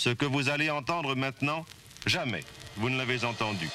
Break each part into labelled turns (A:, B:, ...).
A: Ce que vous allez entendre maintenant, jamais vous ne l'avez entendu.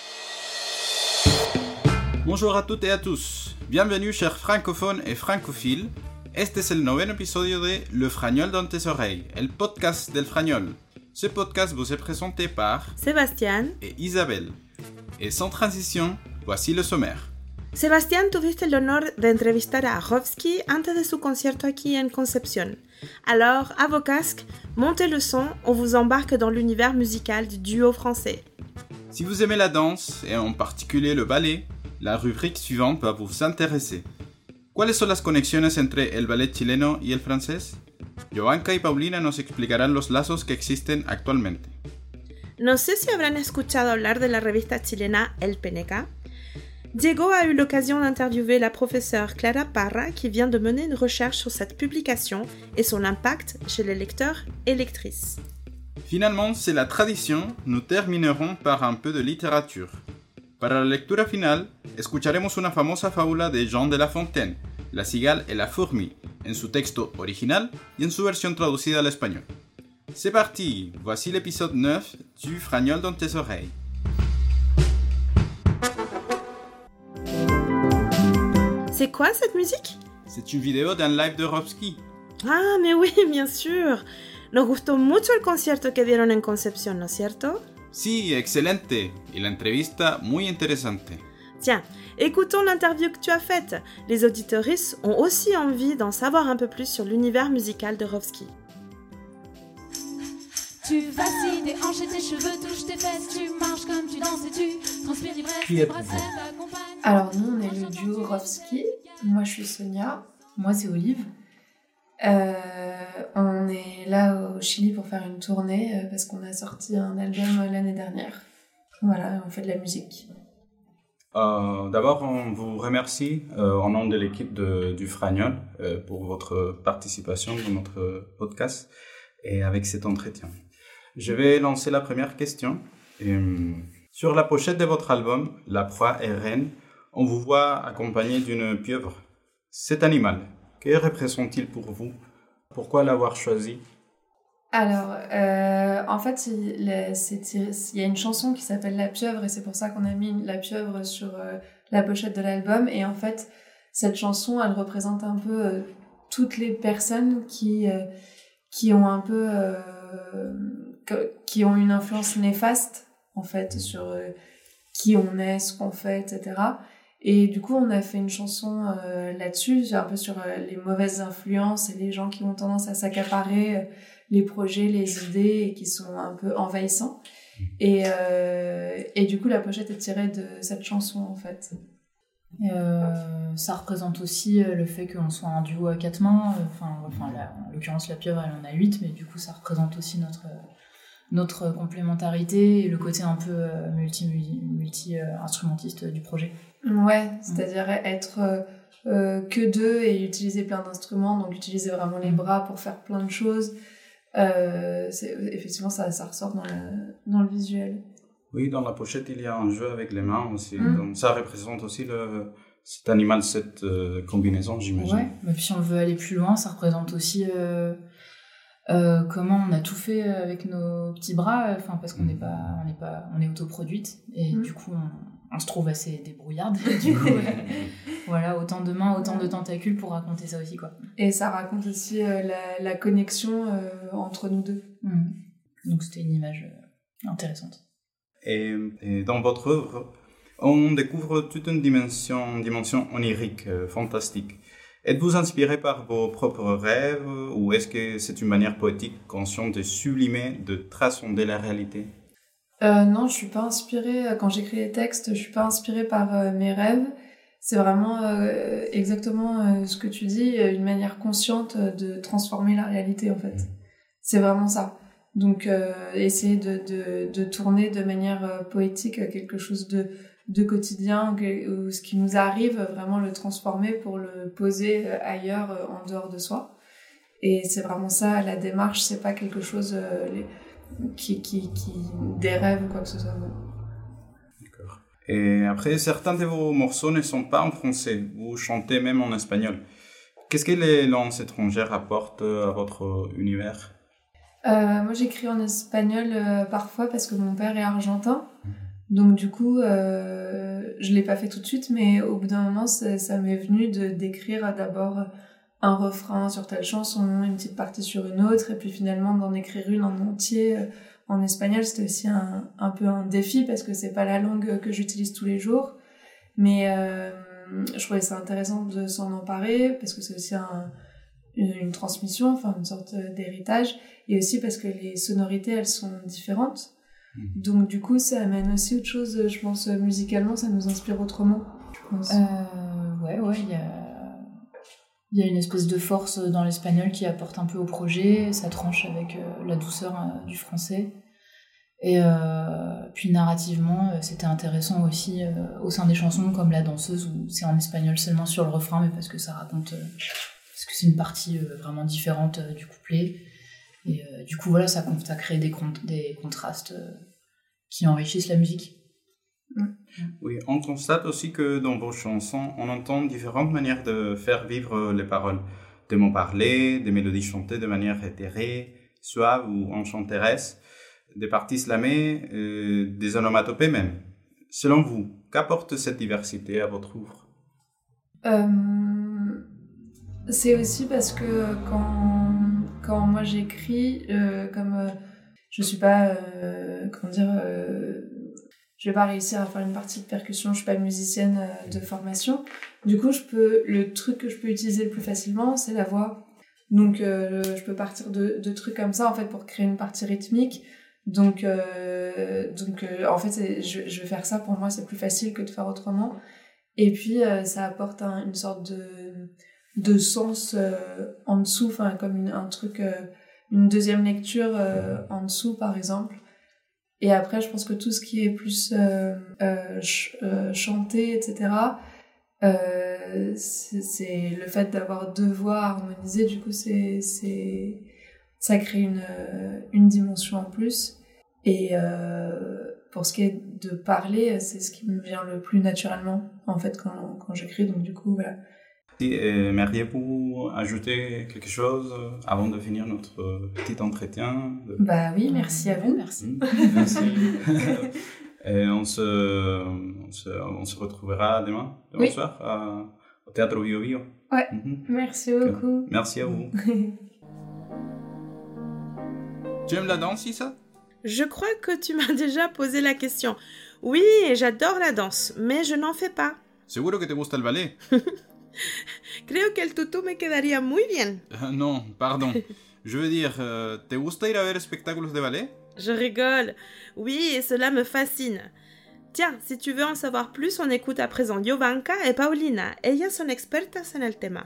B: Bonjour a toutes et a tous. Bienvenue chers francophones et francophiles. Este es el noveno episodio de Le Fragnol dans tes oreilles, el podcast del Fragnol. Ce podcast vous est présenté par
C: Sebastián
B: et Isabelle. Et sans transition, voici le sommaire.
C: Sebastián, tuviste el honor de entrevistar a Rovsky antes de su concierto aquí en Concepción. Alors, à vos casques, montez le son, on vous embarque dans l'univers musical du duo français.
B: Si vous aimez la danse, et en particulier le ballet, la rubrique suivante va vous intéresser. ¿Cuáles son las conexiones entre el ballet chileno y el francés? Jovanka y Paulina nos explicarán los lazos que existen actualmente.
C: No sé si habrán escuchado hablar de la revista chilena El PNK. Diego a eu l'occasion d'interviewer la professeure Clara Parra qui vient de mener une recherche sur cette publication et son impact chez les lecteurs et lectrices.
B: Finalement, c'est la tradition, nous terminerons par un peu de littérature. Para la lectura final, escucharemos una famosa fábula de Jean de La Fontaine, La cigale et la fourmi, en su texto original y en su versión traducida al español. C'est parti, voici l'épisode 9 du Fragnol dans tes oreilles.
C: C'est quoi cette musique?
B: C'est une vidéo d'un live de Rovsky.
C: Ah, mais oui, bien sûr. Nos gustó mucho el concierto que dieron en Concepción, ¿no es cierto?
B: Sí, excelente. Y la entrevista muy interesante.
C: Tiens, écoutons l'interview que tu as faite. Les auditeuristes ont aussi envie d'en savoir un peu plus sur l'univers musical de Rovsky.
D: Tu vacilles, tes hanches et tes cheveux touchent tes fesses, tu marches comme tu danses et tu transpires l'ivresse, tes bracelets t'accompagnent.
E: Alors nous, on est le duo Rovsky. Moi, je suis Sonia.
F: Moi, c'est Olive.
E: On est là au Chili pour faire une tournée parce qu'on a sorti un album l'année dernière. Voilà, on fait de la musique.
B: D'abord, on vous remercie au nom de l'équipe du Fragnol pour votre participation dans notre podcast et avec cet entretien. Je vais lancer la première question. Sur la pochette de votre album, La proie est reine, on vous voit accompagné d'une pieuvre. Cet animal, que représente-t-il pour vous? Pourquoi l'avoir choisi?
E: Alors, en fait, il y a une chanson qui s'appelle La pieuvre et c'est pour ça qu'on a mis la pieuvre sur la pochette de l'album. Et en fait, cette chanson, elle représente un peu toutes les personnes qui ont un peu... qui ont une influence néfaste, en fait, sur qui on est, ce qu'on fait, etc. Et du coup, on a fait une chanson là-dessus, un peu sur les mauvaises influences et les gens qui ont tendance à s'accaparer les projets, les idées et qui sont un peu envahissants. Et du coup, la pochette est tirée de cette chanson, en fait.
F: Ça représente aussi le fait qu'on soit un duo à quatre mains. En l'occurrence, la pieuvre, elle en a 8, mais du coup, ça représente aussi notre complémentarité et le côté un peu multi-instrumentiste du projet.
E: Ouais, c'est-à-dire être que deux et utiliser plein d'instruments, donc utiliser vraiment les bras pour faire plein de choses. Effectivement, ça ressort dans le visuel.
B: Oui, dans la pochette, il y a un jeu avec les mains aussi. Donc ça représente aussi cet animal, cette combinaison, j'imagine.
F: Ouais, mais puis si on veut aller plus loin, ça représente aussi comment on a tout fait avec nos petits bras, parce qu'on on est autoproduite et du coup on se trouve assez débrouillarde. Du coup, voilà, autant de mains, autant de tentacules pour raconter ça aussi, quoi.
E: Et ça raconte aussi la connexion entre nous deux.
F: Donc c'était une image intéressante.
B: Et dans votre œuvre, on découvre toute une dimension onirique, fantastique. Êtes-vous inspiré par vos propres rêves ou est-ce que c'est une manière poétique, consciente de sublimer, de transcender la réalité?
E: Non, je suis pas inspirée. Quand j'écris les textes, je suis pas inspirée par mes rêves. C'est vraiment exactement ce que tu dis, une manière consciente de transformer la réalité, en fait. C'est vraiment ça. Donc, essayer de tourner de manière poétique quelque chose de quotidien, ou ce qui nous arrive, vraiment le transformer pour le poser ailleurs, en dehors de soi. Et c'est vraiment ça, la démarche, c'est pas quelque chose qui des rêves ou quoi que ce soit.
B: D'accord. Et après, certains de vos morceaux ne sont pas en français, vous chantez même en espagnol. Qu'est-ce que les langues étrangères apportent à votre univers?
E: Moi, j'écris en espagnol parfois parce que mon père est argentin. Donc, du coup, je l'ai pas fait tout de suite, mais au bout d'un moment, ça m'est venu d'écrire d'abord un refrain sur telle chanson, une petite partie sur une autre, et puis finalement d'en écrire une en entier en espagnol. C'était aussi un peu un défi parce que c'est pas la langue que j'utilise tous les jours. Mais je trouvais ça intéressant de s'en emparer parce que c'est aussi une transmission, enfin une sorte d'héritage, et aussi parce que les sonorités elles sont différentes, donc du coup ça amène aussi autre chose, je pense, musicalement ça nous inspire autrement, je pense.
F: Ouais, il y a une espèce de force dans l'espagnol qui apporte un peu au projet, ça tranche avec la douceur du français, et puis narrativement c'était intéressant aussi au sein des chansons comme La Danseuse où c'est en espagnol seulement sur le refrain, mais parce que ça raconte parce que c'est une partie vraiment différente du couplet. Et du coup, voilà, ça crée des contrastes qui enrichissent la musique.
B: Oui, on constate aussi que dans vos chansons, on entend différentes manières de faire vivre les paroles. Des mots parlés, des mélodies chantées de manière éthérée, suave ou enchanteresse, des parties slamées, des onomatopées même. Selon vous, qu'apporte cette diversité à votre œuvre ?
E: C'est aussi parce que quand moi j'écris, comme je suis pas, je vais pas réussir à faire une partie de percussion, je suis pas musicienne de formation. Du coup, le truc que je peux utiliser le plus facilement, c'est la voix. Donc, je peux partir de trucs comme ça, en fait, pour créer une partie rythmique. Donc en fait, je vais faire ça, pour moi, c'est plus facile que de faire autrement. Et puis, ça apporte une sorte de sens en dessous, enfin comme un truc, une deuxième lecture en dessous par exemple. Et après je pense que tout ce qui est plus chanté, etc., c'est le fait d'avoir deux voix harmonisées, du coup ça crée une dimension en plus. Et pour ce qui est de parler, c'est ce qui me vient le plus naturellement en fait quand j'écris, donc du coup voilà.
B: Aimeriez-vous ajouter quelque chose avant de finir notre petit entretien ?
E: Bah oui, merci à vous.
F: Merci.
B: Merci. Et on se retrouvera demain soir au Théâtre Bio Bio.
E: Ouais, merci beaucoup.
B: Merci à vous. Tu aimes la danse, Issa ?
C: Je crois que tu m'as déjà posé la question. Oui, j'adore la danse, mais je n'en fais pas.
B: Seguro que te gusta el ballet.
C: Creo que el tutú me quedaría muy bien.
B: Non, pardon. Je veux dire, ¿te gusta ir a ver espectáculos de ballet?
C: Je rigole. Oui, et cela me fascine. Tiens, si tu veux en savoir plus, on écoute à présent Jovanka et Paulina. Ellas son expertas en el tema.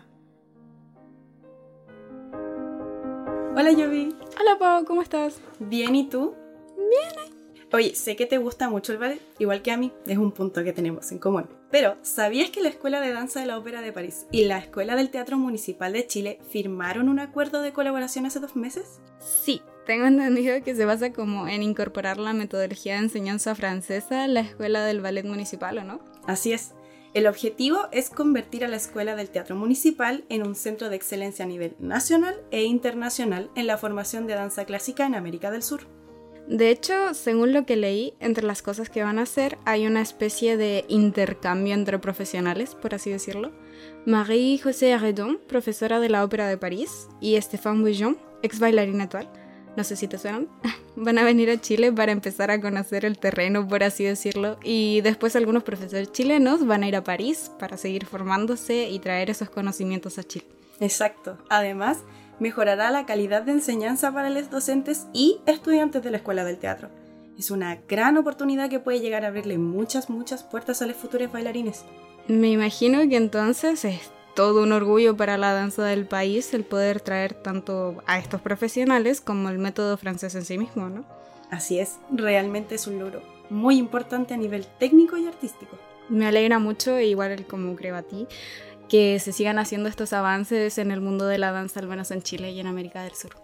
G: Hola, Yovi.
H: Hola, Pau, ¿cómo estás?
G: Bien, ¿y tú? Bien. Oye, sé que te gusta mucho el ballet, igual que a mí, es un punto que tenemos en común. Pero, ¿sabías que la Escuela de Danza de la Ópera de París y la Escuela del Teatro Municipal de Chile firmaron un acuerdo de colaboración hace 2 meses?
H: Sí, tengo entendido que se basa como en incorporar la metodología de enseñanza francesa a la Escuela del Ballet Municipal, ¿o no?
G: Así es. El objetivo es convertir a la Escuela del Teatro Municipal en un centro de excelencia a nivel nacional e internacional en la formación de danza clásica en América del Sur.
H: De hecho, según lo que leí, entre las cosas que van a hacer hay una especie de intercambio entre profesionales, por así decirlo. Marie-José Arredon, profesora de la Ópera de París, y Stéphane Bouillon, ex bailarina actual, no sé si te suenan, van a venir a Chile para empezar a conocer el terreno, por así decirlo, y después algunos profesores chilenos van a ir a París para seguir formándose y traer esos conocimientos a Chile.
G: Exacto. Además, mejorará la calidad de enseñanza para los docentes y estudiantes de la Escuela del Teatro. Es una gran oportunidad que puede llegar a abrirle muchas puertas a los futuros bailarines.
H: Me imagino que entonces es todo un orgullo para la danza del país el poder traer tanto a estos profesionales como el método francés en sí mismo, ¿no?
G: Así es, realmente es un logro muy importante a nivel técnico y artístico.
H: Me alegra mucho, igual como creo a ti, que se sigan haciendo estos avances en el mundo de la danza, al menos en Chile y en América del Sur.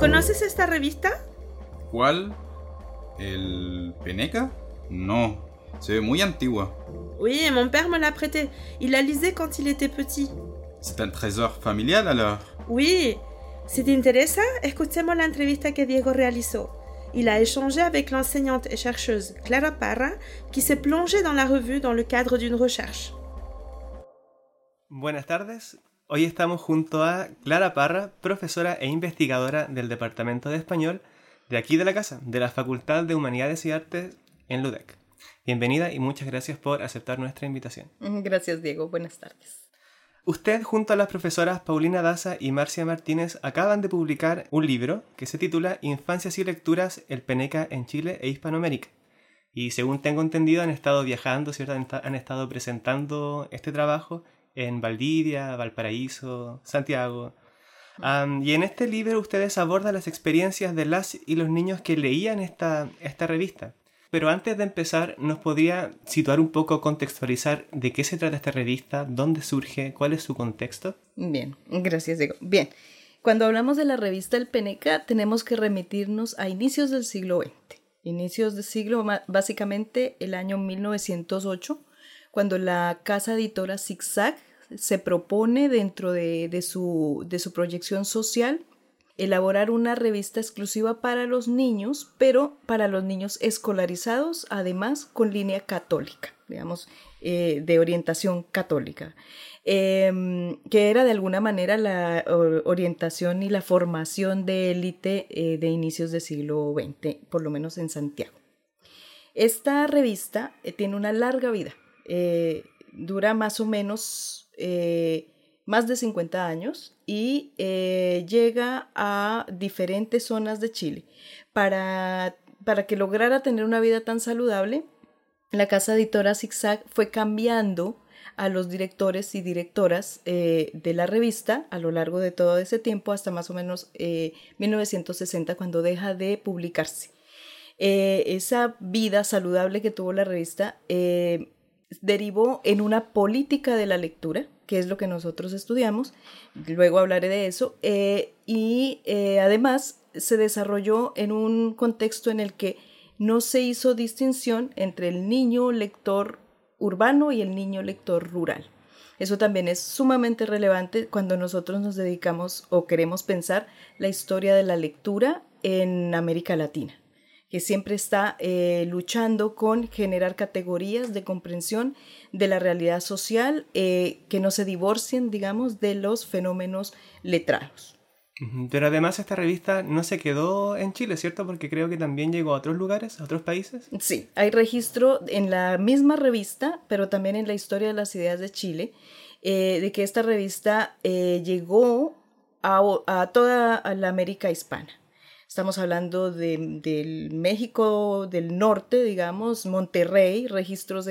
C: ¿Conoces esta revista?
B: ¿Cuál? ¿El Peneca? No. Se ve muy antigua.
C: Oui, mon père me l'a prêté. Il la lisait quand il était petit.
B: C'est un trésor familial alors.
C: Oui. Si te interesa, escuchemos la entrevista que Diego realizó. Il a échangé avec l'enseignante et chercheuse Clara Parra, qui s'est plongée dans la revue dans le cadre d'une recherche.
I: Buenas tardes. Hoy estamos junto a Clara Parra, profesora e investigadora del Departamento de Español de aquí de la casa, de la Facultad de Humanidades y Artes en LUDEC. Bienvenida y muchas gracias por aceptar nuestra invitación.
J: Gracias, Diego. Buenas tardes.
I: Usted, junto a las profesoras Paulina Daza y Marcia Martínez, acaban de publicar un libro que se titula Infancias y lecturas, el Peneca en Chile e Hispanoamérica. Y según tengo entendido, han estado viajando, ¿cierto? Han estado presentando este trabajo en Valdivia, Valparaíso, Santiago. Y en este libro ustedes abordan las experiencias de las y los niños que leían esta revista. Pero antes de empezar, ¿nos podría situar un poco, contextualizar de qué se trata esta revista, dónde surge, cuál es su contexto?
J: Bien, gracias, Diego. Bien, cuando hablamos de la revista El Peneca, tenemos que remitirnos a inicios del siglo XX. Inicios del siglo, básicamente el año 1908, cuando la casa editora Zig-Zag se propone dentro de su proyección social elaborar una revista exclusiva para los niños, pero para los niños escolarizados, además con línea católica, digamos, de orientación católica, que era de alguna manera la orientación y la formación de élite de inicios del siglo XX, por lo menos en Santiago. Esta revista tiene una larga vida, dura más o menos más de 50 años y llega a diferentes zonas de Chile. Para que lograra tener una vida tan saludable, la casa editora Zig-Zag fue cambiando a los directores y directoras de la revista a lo largo de todo ese tiempo hasta más o menos 1960, cuando deja de publicarse. Esa vida saludable que tuvo la revista derivó en una política de la lectura, que es lo que nosotros estudiamos, luego hablaré de eso, y además se desarrolló en un contexto en el que no se hizo distinción entre el niño lector urbano y el niño lector rural. Eso también es sumamente relevante cuando nosotros nos dedicamos o queremos pensar la historia de la lectura en América Latina, que siempre está luchando con generar categorías de comprensión de la realidad social que no se divorcien, digamos, de los fenómenos letrados.
I: Pero además esta revista no se quedó en Chile, ¿cierto? Porque creo que también llegó a otros lugares, a otros países.
J: Sí, hay registro en la misma revista, pero también en la historia de las ideas de Chile, de que esta revista llegó a toda la América hispana. Estamos hablando del México del norte, digamos, Monterrey, registros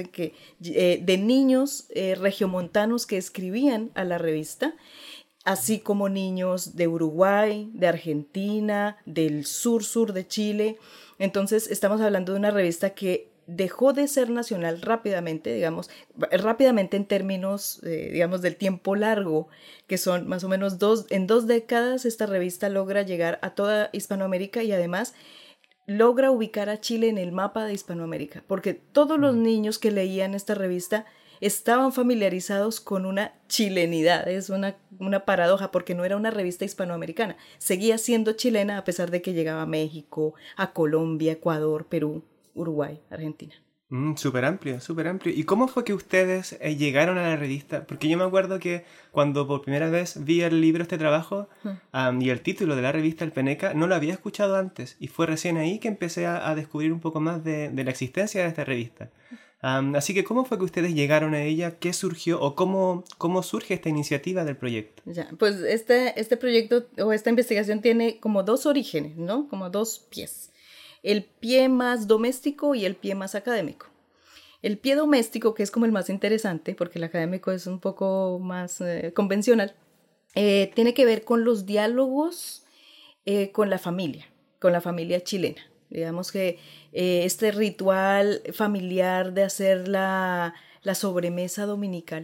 J: de niños regiomontanos que escribían a la revista, así como niños de Uruguay, de Argentina, del sur de Chile. Entonces estamos hablando de una revista que dejó de ser nacional rápidamente, digamos, rápidamente en términos, digamos, del tiempo largo, que son más o menos en 2 décadas, esta revista logra llegar a toda Hispanoamérica y además logra ubicar a Chile en el mapa de Hispanoamérica, porque todos los niños que leían esta revista estaban familiarizados con una chilenidad. Es una paradoja, porque no era una revista hispanoamericana, seguía siendo chilena a pesar de que llegaba a México, a Colombia, Ecuador, Perú, Uruguay, Argentina.
I: Súper amplio, súper amplio. ¿Y cómo fue que ustedes llegaron a la revista? Porque yo me acuerdo que cuando por primera vez vi el libro, este trabajo, y el título de la revista El Peneca, no lo había escuchado antes. Y fue recién ahí que empecé a descubrir un poco más de la existencia de esta revista. Así que, ¿cómo fue que ustedes llegaron a ella? ¿Qué surgió? ¿O cómo surge esta iniciativa del proyecto?
J: Ya, pues este proyecto o esta investigación tiene como 2 orígenes, ¿no? Como 2 pies. El pie más doméstico y el pie más académico. El pie doméstico, que es como el más interesante, porque el académico es un poco más convencional, tiene que ver con los diálogos con la familia chilena. Digamos que este ritual familiar de hacer la sobremesa dominical,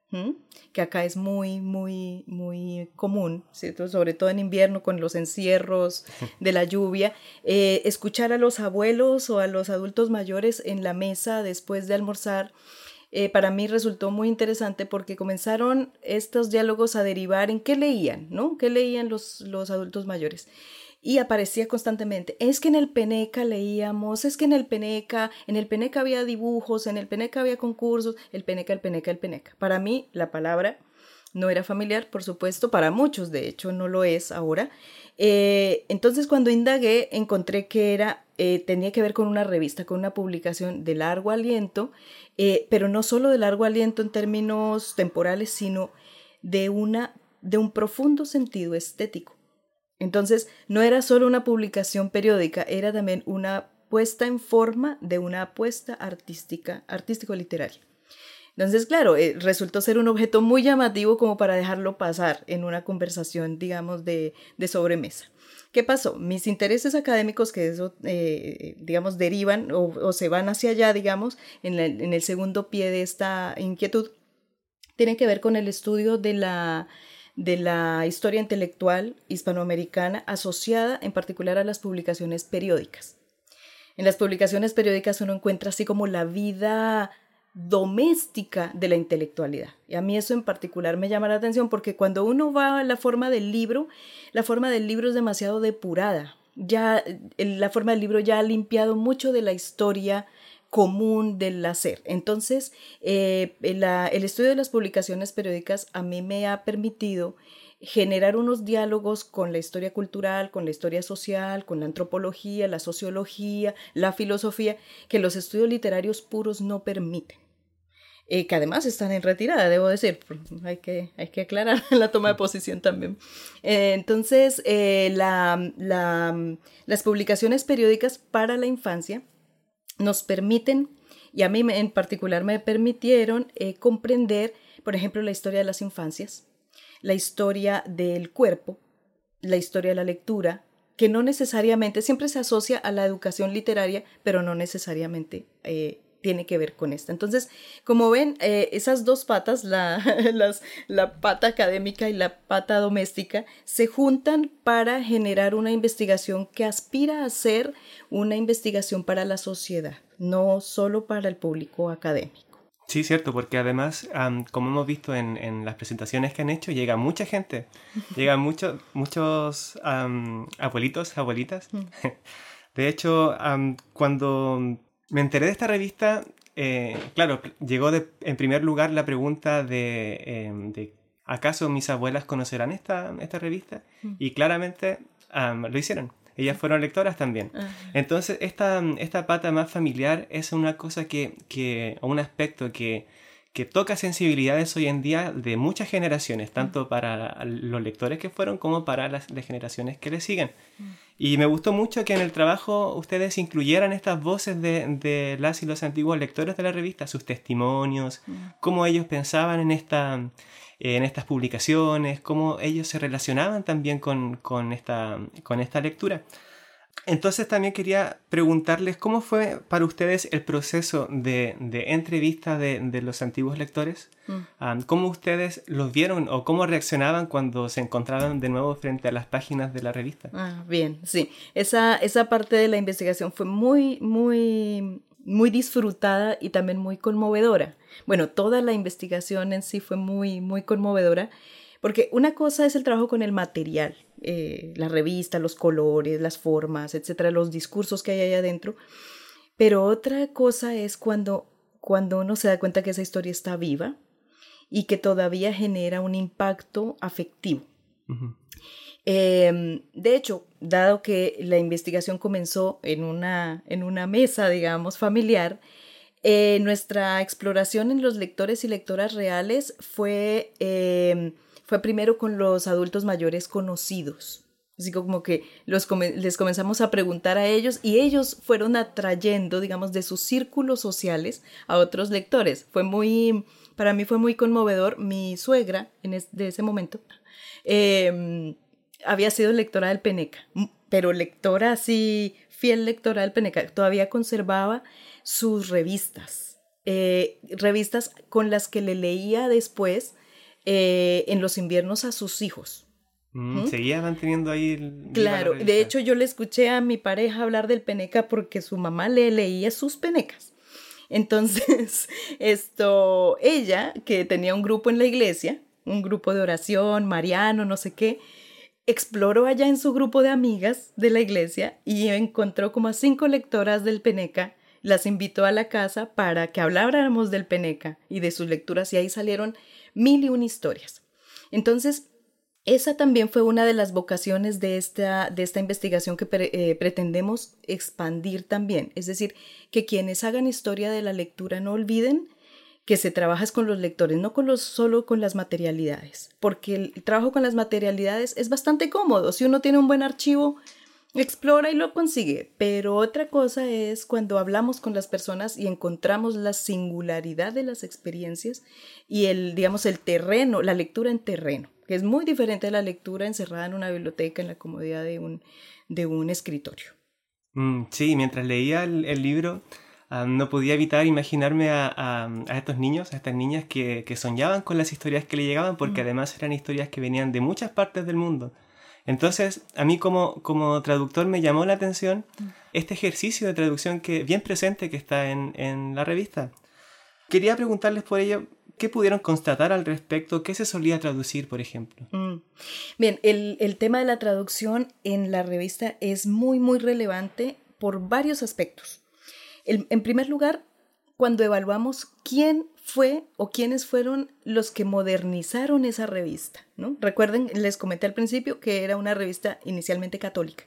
J: que acá es muy, muy, muy común, ¿cierto? Sobre todo en invierno con los encierros de la lluvia, escuchar a los abuelos o a los adultos mayores en la mesa después de almorzar, para mí resultó muy interesante porque comenzaron estos diálogos a derivar en qué leían, ¿no? ¿Qué leían los adultos mayores? Y aparecía constantemente, es que en el Peneca leíamos, es que en el Peneca había dibujos, en el Peneca había concursos, el Peneca. Para mí la palabra no era familiar, por supuesto, para muchos de hecho no lo es ahora. Entonces cuando indagué encontré que tenía que ver con una revista, con una publicación de largo aliento, pero no solo de largo aliento en términos temporales, sino de un profundo sentido estético. Entonces, no era solo una publicación periódica, era también una puesta en forma de una apuesta artístico-literaria. Entonces, claro, resultó ser un objeto muy llamativo como para dejarlo pasar en una conversación, digamos, de sobremesa. ¿Qué pasó? Mis intereses académicos, que eso, digamos, derivan o se van hacia allá, digamos, en el segundo pie de esta inquietud, tienen que ver con el estudio de la historia intelectual hispanoamericana asociada en particular a las publicaciones periódicas. En las publicaciones periódicas uno encuentra así como la vida doméstica de la intelectualidad. Y a mí eso en particular me llama la atención porque cuando uno va a la forma del libro es demasiado depurada. Ya la forma del libro ya ha limpiado mucho de la historia común del hacer. Entonces, el estudio de las publicaciones periódicas a mí me ha permitido generar unos diálogos con la historia cultural, con la historia social, con la antropología, la sociología, la filosofía, que los estudios literarios puros no permiten. Que además están en retirada, debo decir, hay que aclarar la toma de posición también. Entonces, las publicaciones periódicas para la infancia nos permiten, y a mí en particular me permitieron comprender, por ejemplo, la historia de las infancias, la historia del cuerpo, la historia de la lectura, que no necesariamente, siempre se asocia a la educación literaria, pero no necesariamente tiene que ver con esta. Entonces, como ven, esas dos patas, la pata académica y la pata doméstica, se juntan para generar una investigación que aspira a ser una investigación para la sociedad, no solo para el público académico.
I: Sí, cierto, porque además, como hemos visto en las presentaciones que han hecho, llega mucha gente, llegan muchos abuelitos, abuelitas. De hecho, cuando me enteré de esta revista, claro, llegó en primer lugar la pregunta de ¿acaso mis abuelas conocerán esta revista? Y claramente lo hicieron. Ellas fueron lectoras también. Entonces, esta pata más familiar es una cosa o un aspecto que toca sensibilidades hoy en día de muchas generaciones, tanto para los lectores que fueron como para las generaciones que le siguen. Y me gustó mucho que en el trabajo ustedes incluyeran estas voces de las y los antiguos lectores de la revista, sus testimonios, cómo ellos pensaban en estas publicaciones, cómo ellos se relacionaban también con esta lectura. Entonces también quería preguntarles cómo fue para ustedes el proceso de entrevista de los antiguos lectores. ¿Cómo ustedes los vieron o cómo reaccionaban cuando se encontraban de nuevo frente a las páginas de la revista?
J: Bien, sí. Esa parte de la investigación fue muy, muy, muy disfrutada y también muy conmovedora. Bueno, toda la investigación en sí fue muy, muy conmovedora, porque una cosa es el trabajo con el material, la revista, los colores, las formas, etcétera, los discursos que hay ahí adentro, pero otra cosa es cuando uno se da cuenta que esa historia está viva y que todavía genera un impacto afectivo. De hecho, dado que la investigación comenzó en una mesa, digamos, familiar, nuestra exploración en los lectores y lectoras reales fue primero con los adultos mayores conocidos. Así como que les comenzamos a preguntar a ellos y ellos fueron atrayendo, digamos, de sus círculos sociales a otros lectores. Para mí fue muy conmovedor. Mi suegra, de ese momento, había sido lectora del Peneca, pero lectora así, fiel lectora del Peneca. Todavía conservaba sus revistas. revistas con las que le leía después en los inviernos a sus hijos.
I: Seguía manteniendo ahí...
J: Claro, de hecho yo le escuché a mi pareja hablar del Peneca porque su mamá le leía sus penecas. Entonces, ella, que tenía un grupo en la iglesia, un grupo de oración, mariano, no sé qué, exploró allá en su grupo de amigas de la iglesia y encontró como a 5 lectoras del Peneca, las invitó a la casa para que habláramos del Peneca y de sus lecturas, y ahí salieron 1001 historias. Entonces, esa también fue una de las vocaciones de esta investigación que pretendemos expandir también. Es decir, que quienes hagan historia de la lectura no olviden que se trabaja con los lectores, no solo con las materialidades, porque el trabajo con las materialidades es bastante cómodo. Si uno tiene un buen archivo, explora y lo consigue, pero otra cosa es cuando hablamos con las personas y encontramos la singularidad de las experiencias y el terreno, la lectura en terreno, que es muy diferente de la lectura encerrada en una biblioteca en la comodidad de un escritorio.
I: Sí, mientras leía el libro no podía evitar imaginarme a estos niños, a estas niñas que soñaban con las historias que le llegaban, porque además eran historias que venían de muchas partes del mundo. Entonces, a mí como traductor me llamó la atención este ejercicio de traducción bien presente que está en la revista. Quería preguntarles por ello, ¿qué pudieron constatar al respecto? ¿Qué se solía traducir, por ejemplo?
J: Bien, el tema de la traducción en la revista es muy, muy relevante por varios aspectos. En primer lugar, cuando evaluamos quién fue o quiénes fueron los que modernizaron esa revista, ¿no? Recuerden, les comenté al principio que era una revista inicialmente católica,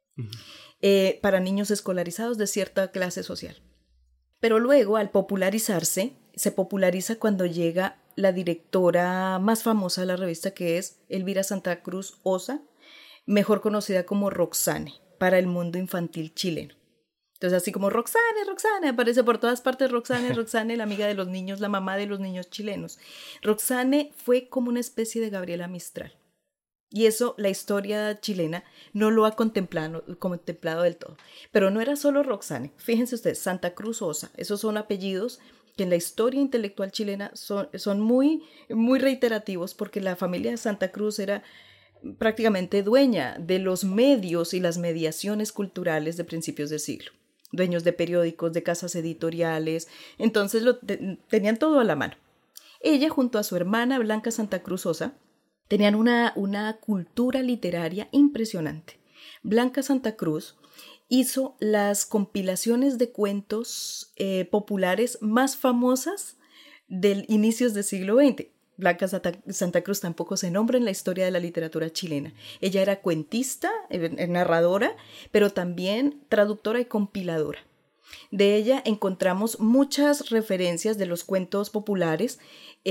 J: para niños escolarizados de cierta clase social. Pero luego, al popularizarse, se populariza cuando llega la directora más famosa de la revista, que es Elvira Santa Cruz Osa, mejor conocida como Roxane, para el mundo infantil chileno. Entonces, así como Roxane, aparece por todas partes Roxane, la amiga de los niños, la mamá de los niños chilenos. Roxane fue como una especie de Gabriela Mistral. Y eso la historia chilena no lo ha contemplado del todo. Pero no era solo Roxane. Fíjense ustedes, Santa Cruz Osa, esos son apellidos que en la historia intelectual chilena son muy, muy reiterativos, porque la familia de Santa Cruz era prácticamente dueña de los medios y las mediaciones culturales de principios del siglo. Dueños de periódicos, de casas editoriales, entonces tenían todo a la mano. Ella, junto a su hermana Blanca Santa Cruz Osa, tenían una cultura literaria impresionante. Blanca Santa Cruz hizo las compilaciones de cuentos populares más famosas del inicios del siglo XX. Blanca Santa Cruz tampoco se nombra en la historia de la literatura chilena. Ella era cuentista, narradora, pero también traductora y compiladora. De ella encontramos muchas referencias de los cuentos populares.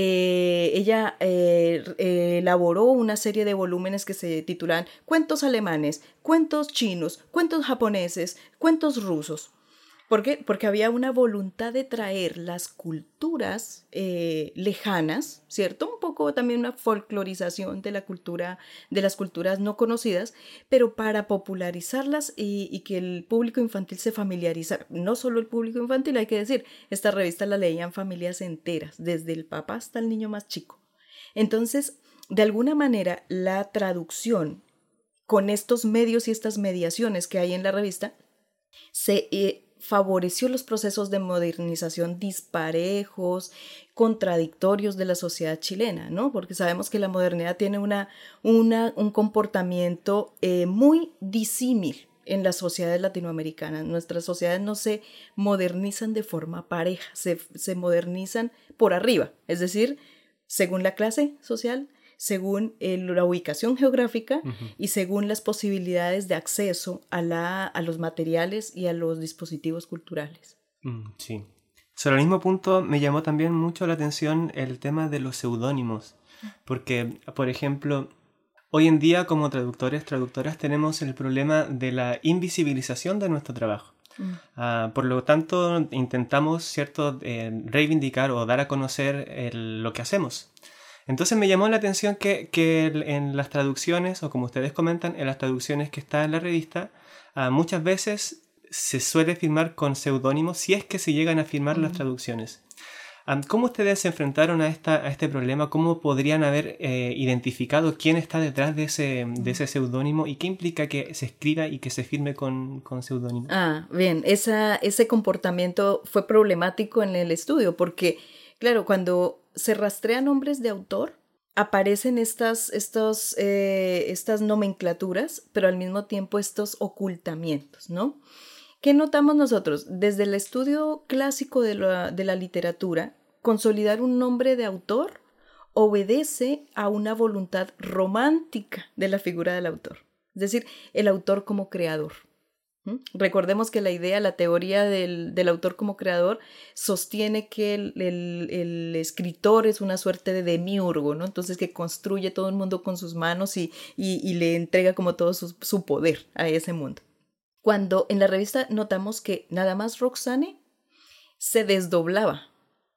J: Ella elaboró una serie de volúmenes que se titulan Cuentos alemanes, cuentos chinos, cuentos japoneses, cuentos rusos. ¿Por qué? Porque había una voluntad de traer las culturas lejanas, ¿cierto? Un poco también una folclorización de las culturas no conocidas, pero para popularizarlas y que el público infantil se familiarizara. No solo el público infantil, hay que decir, esta revista la leían familias enteras, desde el papá hasta el niño más chico. Entonces, de alguna manera, la traducción con estos medios y estas mediaciones que hay en la revista se favoreció los procesos de modernización disparejos, contradictorios de la sociedad chilena, ¿no? Porque sabemos que la modernidad tiene un comportamiento muy disímil en las sociedades latinoamericanas. Nuestras sociedades no se modernizan de forma pareja, se modernizan por arriba, es decir, según la clase social, según la ubicación geográfica y según las posibilidades de acceso a los materiales y a los dispositivos culturales.
I: Sí. Sobre el mismo punto me llamó también mucho la atención el tema de los seudónimos, porque, por ejemplo, hoy en día como traductoras tenemos el problema de la invisibilización de nuestro trabajo. Por lo tanto, intentamos, ¿cierto?, reivindicar o dar a conocer lo que hacemos. Entonces me llamó la atención que en las traducciones, o como ustedes comentan, en las traducciones que están en la revista, muchas veces se suele firmar con seudónimos si es que se llegan a firmar las traducciones. ¿Cómo ustedes se enfrentaron a este problema? ¿Cómo podrían haber identificado quién está detrás de ese seudónimo y qué implica que se escriba y que se firme con seudónimo?
J: Bien, ese comportamiento fue problemático en el estudio porque, claro, cuando se rastrean nombres de autor, aparecen estas nomenclaturas, pero al mismo tiempo estos ocultamientos, ¿no? ¿Qué notamos nosotros? Desde el estudio clásico de la literatura, consolidar un nombre de autor obedece a una voluntad romántica de la figura del autor, es decir, el autor como creador. Recordemos que la teoría del autor como creador sostiene que el escritor es una suerte de demiurgo, ¿no? Entonces que construye todo el mundo con sus manos y le entrega como todo su poder a ese mundo. Cuando en la revista notamos que nada más Roxane se desdoblaba.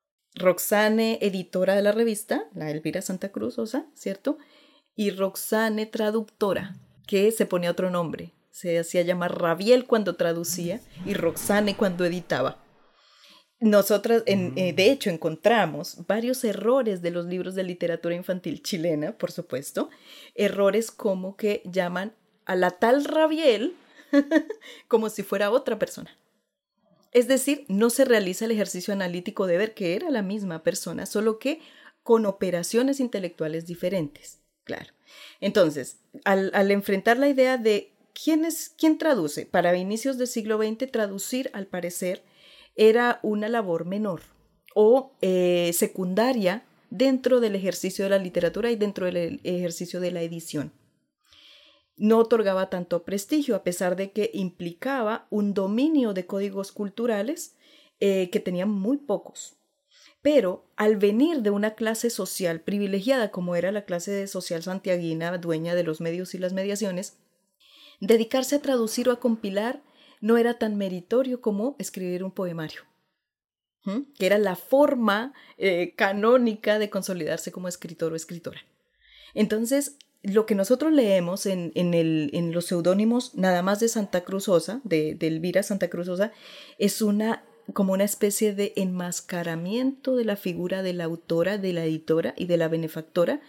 J: Roxane, editora de la revista, la Elvira Santa Cruz Osa, ¿cierto? Y Roxane, traductora, que se ponía otro nombre. Se hacía llamar Rabiel cuando traducía y Roxane cuando editaba. Nosotras, de hecho, encontramos varios errores de los libros de literatura infantil chilena, por supuesto. Errores como que llaman a la tal Rabiel como si fuera otra persona. Es decir, no se realiza el ejercicio analítico de ver que era la misma persona, solo que con operaciones intelectuales diferentes. Claro. Entonces, al enfrentar la idea de quién traduce, para inicios del siglo XX, traducir, al parecer, era una labor menor o secundaria dentro del ejercicio de la literatura y dentro del ejercicio de la edición. No otorgaba tanto prestigio, a pesar de que implicaba un dominio de códigos culturales que tenían muy pocos. Pero al venir de una clase social privilegiada, como era la clase social santiaguina, dueña de los medios y las mediaciones, dedicarse a traducir o a compilar no era tan meritorio como escribir un poemario, que era la forma canónica de consolidarse como escritor o escritora. Entonces, lo que nosotros leemos en los seudónimos nada más de Santa Cruz Osa, de Elvira Santa Cruz Osa, es como una especie de enmascaramiento de la figura de la autora, de la editora y de la benefactora,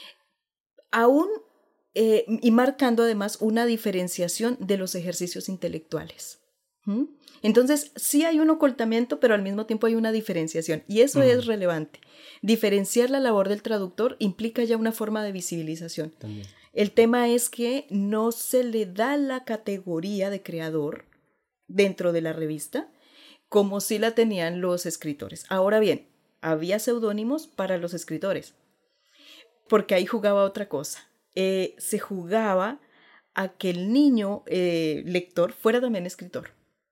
J: aún y marcando además una diferenciación de los ejercicios intelectuales. Entonces, sí hay un ocultamiento, pero al mismo tiempo hay una diferenciación, y eso es relevante. Diferenciar la labor del traductor implica ya una forma de visibilización. También. El tema es que no se le da la categoría de creador dentro de la revista, como sí la tenían los escritores. Ahora bien, había seudónimos para los escritores, porque ahí jugaba otra cosa. Se jugaba a que el niño lector fuera también escritor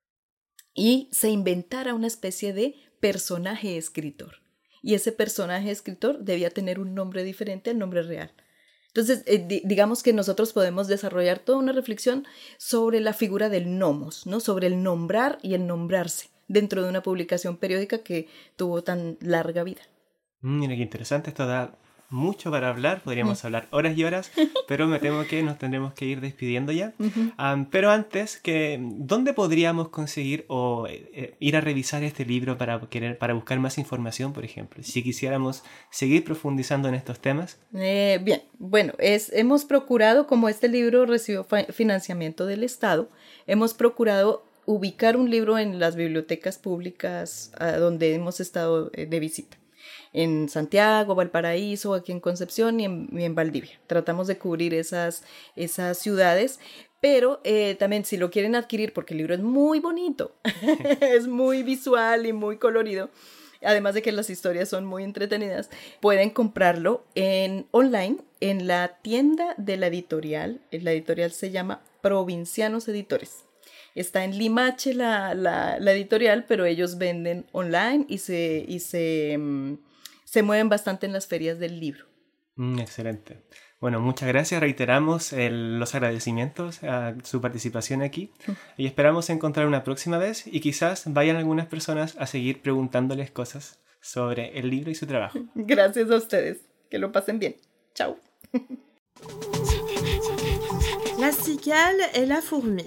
J: y se inventara una especie de personaje escritor, y ese personaje escritor debía tener un nombre diferente al nombre real. Entonces, digamos que nosotros podemos desarrollar toda una reflexión sobre la figura del nomos, ¿no? Sobre el nombrar y el nombrarse dentro de una publicación periódica que tuvo tan larga vida.
I: Mira qué interesante, esto da mucho para hablar, podríamos hablar horas y horas, pero me temo que nos tendremos que ir despidiendo ya. Pero antes, ¿dónde podríamos conseguir o ir a revisar este libro para buscar más información, por ejemplo? Si quisiéramos seguir profundizando en estos temas.
J: Bien, bueno, hemos procurado, como este libro recibió financiamiento del Estado, hemos procurado ubicar un libro en las bibliotecas públicas donde hemos estado de visita. En Santiago, Valparaíso, aquí en Concepción y en Valdivia. Tratamos de cubrir esas ciudades, pero también si lo quieren adquirir, porque el libro es muy bonito, es muy visual y muy colorido, además de que las historias son muy entretenidas, pueden comprarlo online en la tienda de la editorial. La editorial se llama Provincianos Editores. Está en Limache la editorial, pero ellos venden online y se mueven bastante en las ferias del libro.
I: Excelente. Bueno, muchas gracias. Reiteramos los agradecimientos a su participación aquí y esperamos encontrar una próxima vez y quizás vayan algunas personas a seguir preguntándoles cosas sobre el libro y su trabajo.
J: Gracias a ustedes. Que lo pasen bien. Chao.
C: La cigale et la fourmi.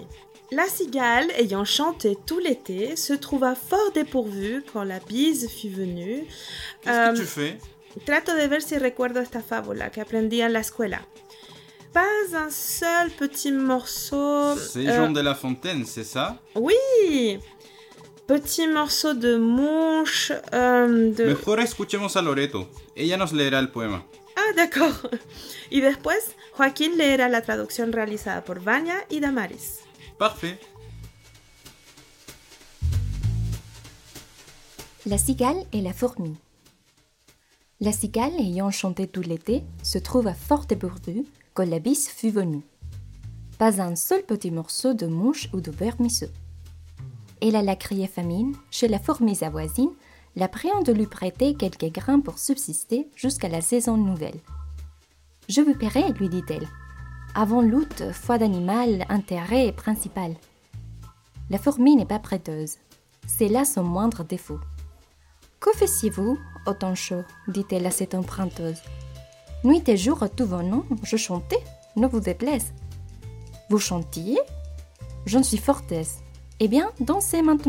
C: La cigale, ayant chanté tout l'été, se trouva fort dépourvue quand la bise fut venue.
B: Qu'est-ce que tu fais?
C: Trato de ver si recuerdo esta fábula que aprendí en la escuela. Pas un seul petit morceau...
B: C'est Jean de La Fontaine, c'est ça?
C: Oui! Petit morceau de mouche...
B: Mejor escuchemos a Loreto. Ella nos leerá el poema.
C: Ah, d'accord. Y después, Joaquín leerá la traducción realizada por Vania y Damaris.
B: Parfait.
K: La cigale et la fourmi. La cigale, ayant chanté tout l'été, se trouva fort dépourvue quand la bise fut venue. Pas un seul petit morceau de mouche ou de vermisseau. Elle alla crier famine chez la fourmi sa voisine, la priant de lui prêter quelques grains pour subsister jusqu'à la saison nouvelle. « Je vous paierai, lui dit-elle. Avant l'août, foi d'animal, intérêt principal. » La fourmi n'est pas prêteuse. C'est là son moindre défaut. « Que faisiez-vous au temps chaud ?» dit-elle à cette emprunteuse. « Nuit et jour, tout venant, je chantais, ne vous déplaise. »« Vous chantiez ? J'en suis fort aise. Eh bien, dansez maintenant. »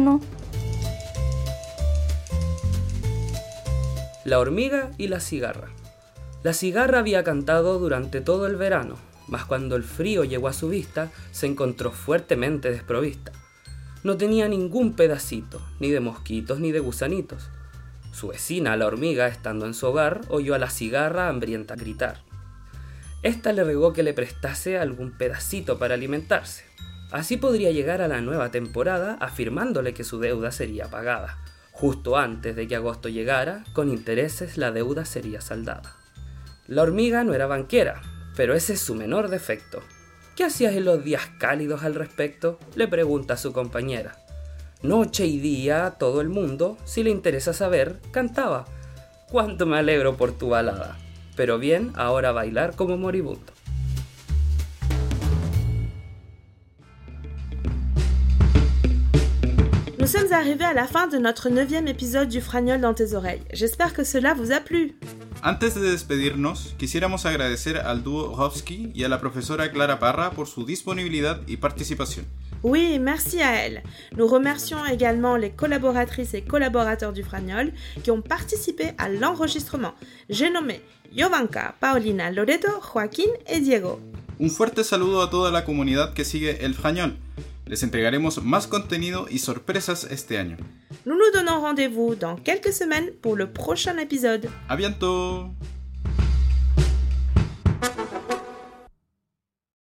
L: La hormiga y la cigarra. La cigarra había cantado durante todo el verano, mas cuando el frío llegó a su vista, se encontró fuertemente desprovista. No tenía ningún pedacito, ni de mosquitos ni de gusanitos. Su vecina, la hormiga, estando en su hogar, oyó a la cigarra hambrienta gritar. Esta le rogó que le prestase algún pedacito para alimentarse. Así podría llegar a la nueva temporada afirmándole que su deuda sería pagada. Justo antes de que agosto llegara, con intereses la deuda sería saldada. La hormiga no era banquera, pero ese es su menor defecto. ¿Qué hacías en los días cálidos al respecto?, le pregunta a su compañera. Noche y día, todo el mundo, si le interesa saber, cantaba. Cuánto me alegro por tu balada. Pero bien, ahora bailar como moribundo.
C: Nous sommes arrivés à la fin de notre 9e épisode du Fragnol dans tes oreilles. J'espère que cela vous a plu.
B: Antes de despedirnos, quisiéramos agradecer al dúo Hovsky y a la profesora Clara Parra por su disponibilidad y participación.
C: Oui, merci à elle. Nous remercions également les collaboratrices et collaborateurs du Fragnol qui ont participé à l'enregistrement. J'ai nommé Jovanka, Paulina, Loreto, Joaquín et Diego.
B: Un fuerte saludo a toda la comunidad que sigue el Fragnol. Les entregaremos más contenido y sorpresas este año.
C: Nous nous donnons rendez-vous dans quelques semaines pour le prochain épisode.
B: À bientôt!